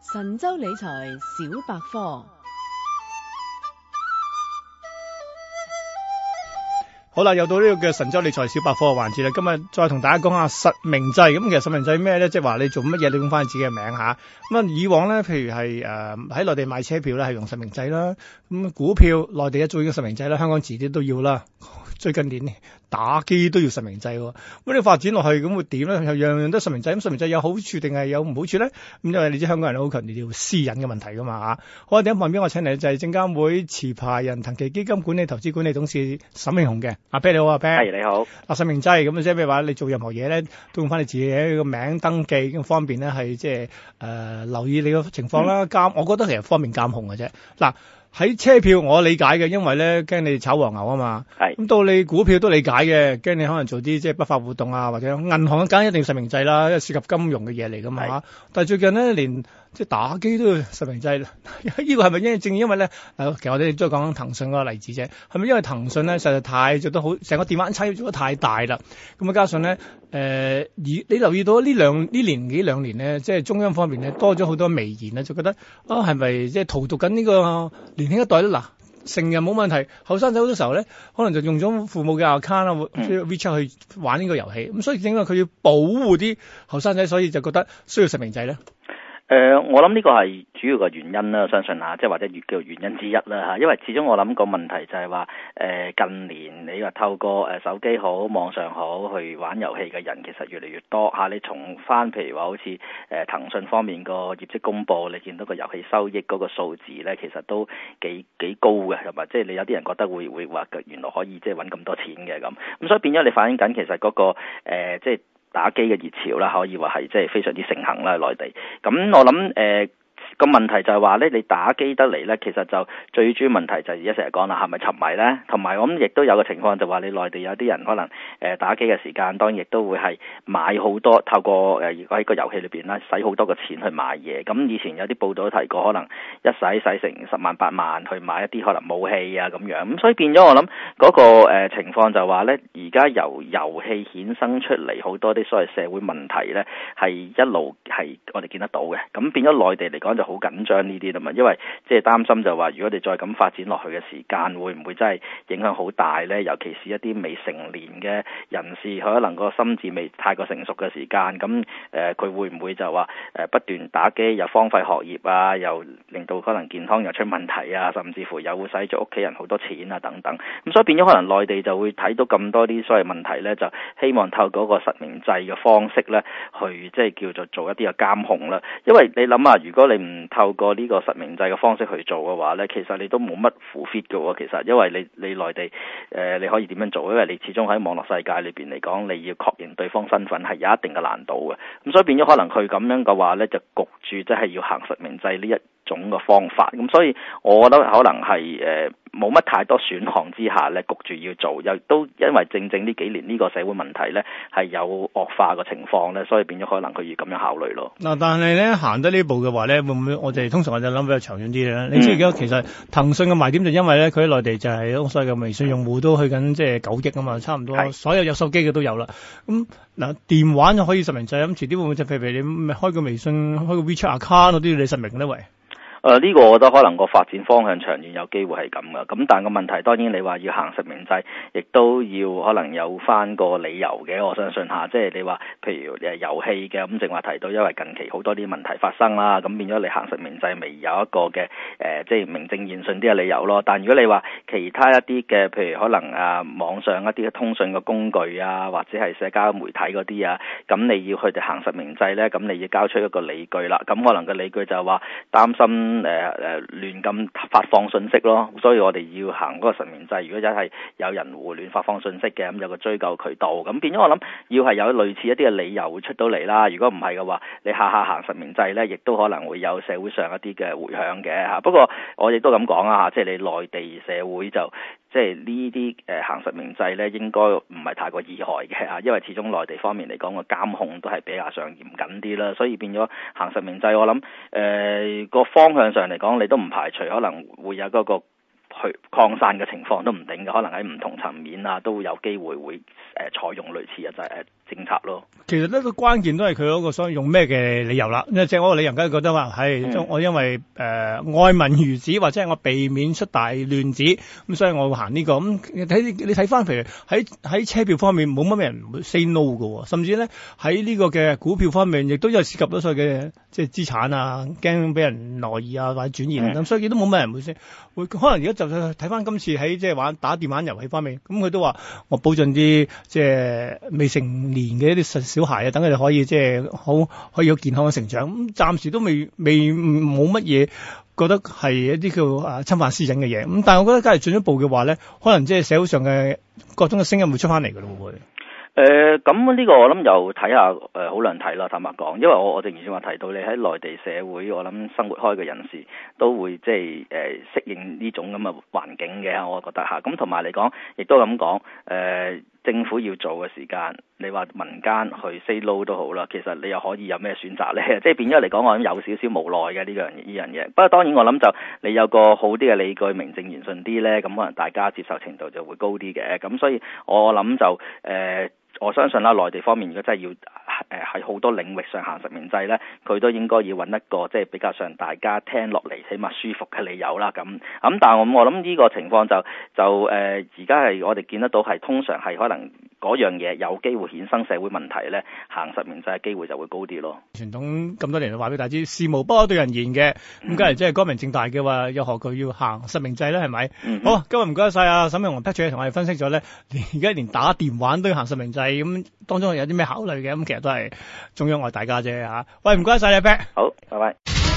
神州理財小百科。 好啦，又到呢個嘅神州理財小百科嘅環節啦。今日再同大家講下實名制。咁其實實名制咩咧？即係話你做乜嘢，你用翻自己嘅名吓。咁啊，以往咧，譬如係喺內地買車票咧，係用實名制啦。咁股票內地一早已經實名制啦，香港遲啲都要啦。最近年打機都要實名制喎。咁你發展落去咁會點咧？又樣樣都實名制。咁實名制有好處定係有唔好處咧？咁因為你知香港人好強調私隱嘅問題噶嘛吓。好啊，第一旁邊我請嚟就係證監會持牌人騰祺基金管理投資管理董事沈慶洪嘅。阿 Ben 你好，阿 Ben。 係你好。 實名制咁即係咩話？你做任何嘢咧，都用翻你自己嘅名登記，咁方便咧係即係留意你個情況啦。我覺得其實方便監控嘅啫。嗱。喺車票我理解嘅，因為咧驚你炒黃牛啊嘛。係。咁到你股票都理解嘅，驚你可能做啲即係不法活動啊，或者銀行梗一定要實名制啦，因為涉及金融嘅嘢嚟噶嘛嚇。但係最近咧連即係打機都要實名制，呢個係咪正因為咧？其實我哋都係講騰訊嗰個例子啫。係咪因為騰訊咧實在太做得好，成個電話產業做得太大啦？咁啊加上咧你留意到呢年幾兩年咧，即係中央方面咧多咗好多微言咧，就覺得係咪即係荼毒緊呢個年輕一代咧？嗱，成日冇問題，後生仔好多時候咧，可能就用咗父母嘅 account 啊，WeChat 去玩呢個遊戲。咁所以點解佢要保護啲後生仔，所以就覺得需要實名制咧？ 我諗呢個係主要嘅原因啦，相信吓，即係或者叫做原因之一啦吓。因為始終我諗個問題就係話，近年你話透過手機好、網上好去玩遊戲嘅人，其實越嚟越多吓。你從翻譬如話好似騰訊方面個業績公佈，你見到個遊戲收益嗰個數字咧，其實都幾高嘅，係咪？即係你有啲人覺得會話原來可以即係搵咁多錢嘅咁所以變咗你反映緊其實嗰個即係打機嘅熱潮啦，可以話係即係非常之盛行啦，內地。咁我諗個問題就係話咧，你打機得嚟咧，其實就最主要問題就係而家成日講啦，係咪沉迷咧？同埋我諗亦都有個情況就話你內地有啲人可能打機嘅時間，當然亦都會係買好多，透過如果喺個遊戲裏邊咧，使好多個錢去買嘢。咁以前有啲報道都提過，可能一使成10萬8萬去買一啲可能武器啊咁樣。咁所以變咗我諗嗰個情況就話咧，而家由遊戲衍生出嚟好多啲所謂社會問題咧，係一路係我哋見得到嘅。咁變咗內地嚟講就好緊張呢啲啦嘛，因為即係擔心就話，如果你再咁發展落去嘅時間，會唔會真係影響好大呢？尤其是一啲未成年嘅人士，佢可能個心智未太過成熟嘅時間，咁佢會唔會就話不斷打機，又荒廢學業啊，又令到可能健康又出問題啊，甚至乎又會使咗屋企人好多錢啊等等。咁所以變咗可能內地就會睇到咁多啲所謂問題呢，就希望透過個實名制嘅方式呢，去即係叫做做一啲嘅監控啦。因為你諗下，如果你唔透過呢個實名制嘅方式去做嘅話呢，其實你都冇乜 fit 嘅喎。其實因為你內地你可以點樣做？因為你始終喺網絡世界裏邊嚟講，你要確認對方身份係有一定嘅難度嘅。咁所以變咗可能佢咁樣嘅話呢，就焗住即係要行實名制呢一種嘅方法。咁所以我覺得可能係冇乜太多選項之下呢，焗住要做，又都因為正呢幾年呢個社會問題呢係有惡化嘅情況呢，所以變咗可能佢要咁樣考慮咯。 嗱，但係呢行得呢步嘅話呢，會唔會我哋通常我就諗比較長遠啲咧？你知而家其實騰訊嘅賣點就因為呢，佢喺內地就係所謂嘅微信用戶都去緊即係9億啊嘛，差唔多所有手機嘅都有啦。咁嗱，電話就可以實名制，咁遲啲會唔會就譬如你開個微信、開個 WeChat account 嗰啲你實名呢？喂？ 呢個我覺得可能個發展方向長遠有機會係咁噶，咁但係個問題當然你話要行實名制，亦都要可能有翻個理由嘅。我相信下，即係你話譬如遊戲嘅咁，正話提到，因為近期好多啲問題發生啦，咁變咗你行實名制未有一個嘅即係名正言順啲嘅理由咯。但如果你話其他一啲嘅，譬如可能網上一啲嘅通訊嘅工具啊，或者係社交媒體嗰啲啊，咁你要佢哋行實名制咧，咁你要交出一個理據啦。咁可能個理據就係話擔心亂咁發放信息咯，所以我哋要行嗰個實名制。如果真係有人胡亂發放信息嘅，咁有個追究渠道，咁變咗我諗要係有類似一啲嘅理由會出到嚟啦。如果唔係嘅話，你下行實名制咧，亦都可能會有社會上一啲嘅迴響嘅嚇。不過我亦都咁講啊，即係你內地社會就即係呢啲行實名制咧，應該唔係太過意外嘅嚇，因為始終內地方面嚟講個監控都係比較上嚴謹啲啦，所以變咗行實名制，我諗個方向上嚟講，你都唔排除可能會有嗰個去擴散嘅情況都唔定嘅，可能喺唔同層面啊都有機會會採用類似嘅政策咯。 其實呢個關鍵都係佢嗰個所謂用咩嘅理由啦，即係我個理由梗係覺得話係我因為愛民如子，或者係我避免出大亂子，咁所以我會行呢個。咁你睇翻，譬如喺車票方面冇乜人會 say no 嘅，甚至咧喺呢個嘅股票方面亦都有涉及到所謂嘅即係資產啊，驚俾人挪移啊或者轉移咁，所以都冇乜人會 say。可能而家就睇翻今次喺即係打電玩遊戲方面，咁佢都話我保障啲即係未成年嘅一啲小孩啊，等佢哋可以即係可以有健康嘅成長。咁暫時都未冇乜嘢覺得係一啲叫侵犯私隱嘅嘢。咁但係我覺得假如進一步嘅話咧，可能即係社會上嘅各種嘅聲音會出翻嚟㗎咯，會。 咁呢個我諗又睇下好難睇啦，坦白講，因為我正如先話提到，你喺內地社會，我諗生活開嘅人士都會即係適應呢種咁嘅環境嘅，我覺得嚇。咁同埋嚟講，亦都咁講，政府要做嘅時間，你話民間去 say no 都好啦，其實你又可以有咩選擇咧？即係變咗嚟講，我諗有少少無奈嘅呢樣嘢。不過當然我諗就你有個好啲嘅理據，名正言順啲咧，咁可能大家接受程度就會高啲嘅。咁所以我諗就我相信啦，內地方面如果真係要喺好多領域上行實名制咧，佢都應該要揾一個即係比較上大家聽落嚟起碼舒服嘅理由啦。咁但係我諗呢個情況就而家係我哋見得到係通常係可能嗰樣嘢有機會衍生社會問題咧，行實名制嘅機會就會高啲咯。 傳統咁多年話俾大家知，事無不可對人言嘅，咁梗係即係光明正大嘅話，又何佢要行實名制咧？係咪？好，今日唔該晒啊沈慶洪 Patrick 同我哋分析咗咧，而家連打電話都要行實名制，咁當中有啲咩考慮嘅？咁其實都係中央愛大家啫嚇。喂，唔該晒你 Pat。 好，拜拜。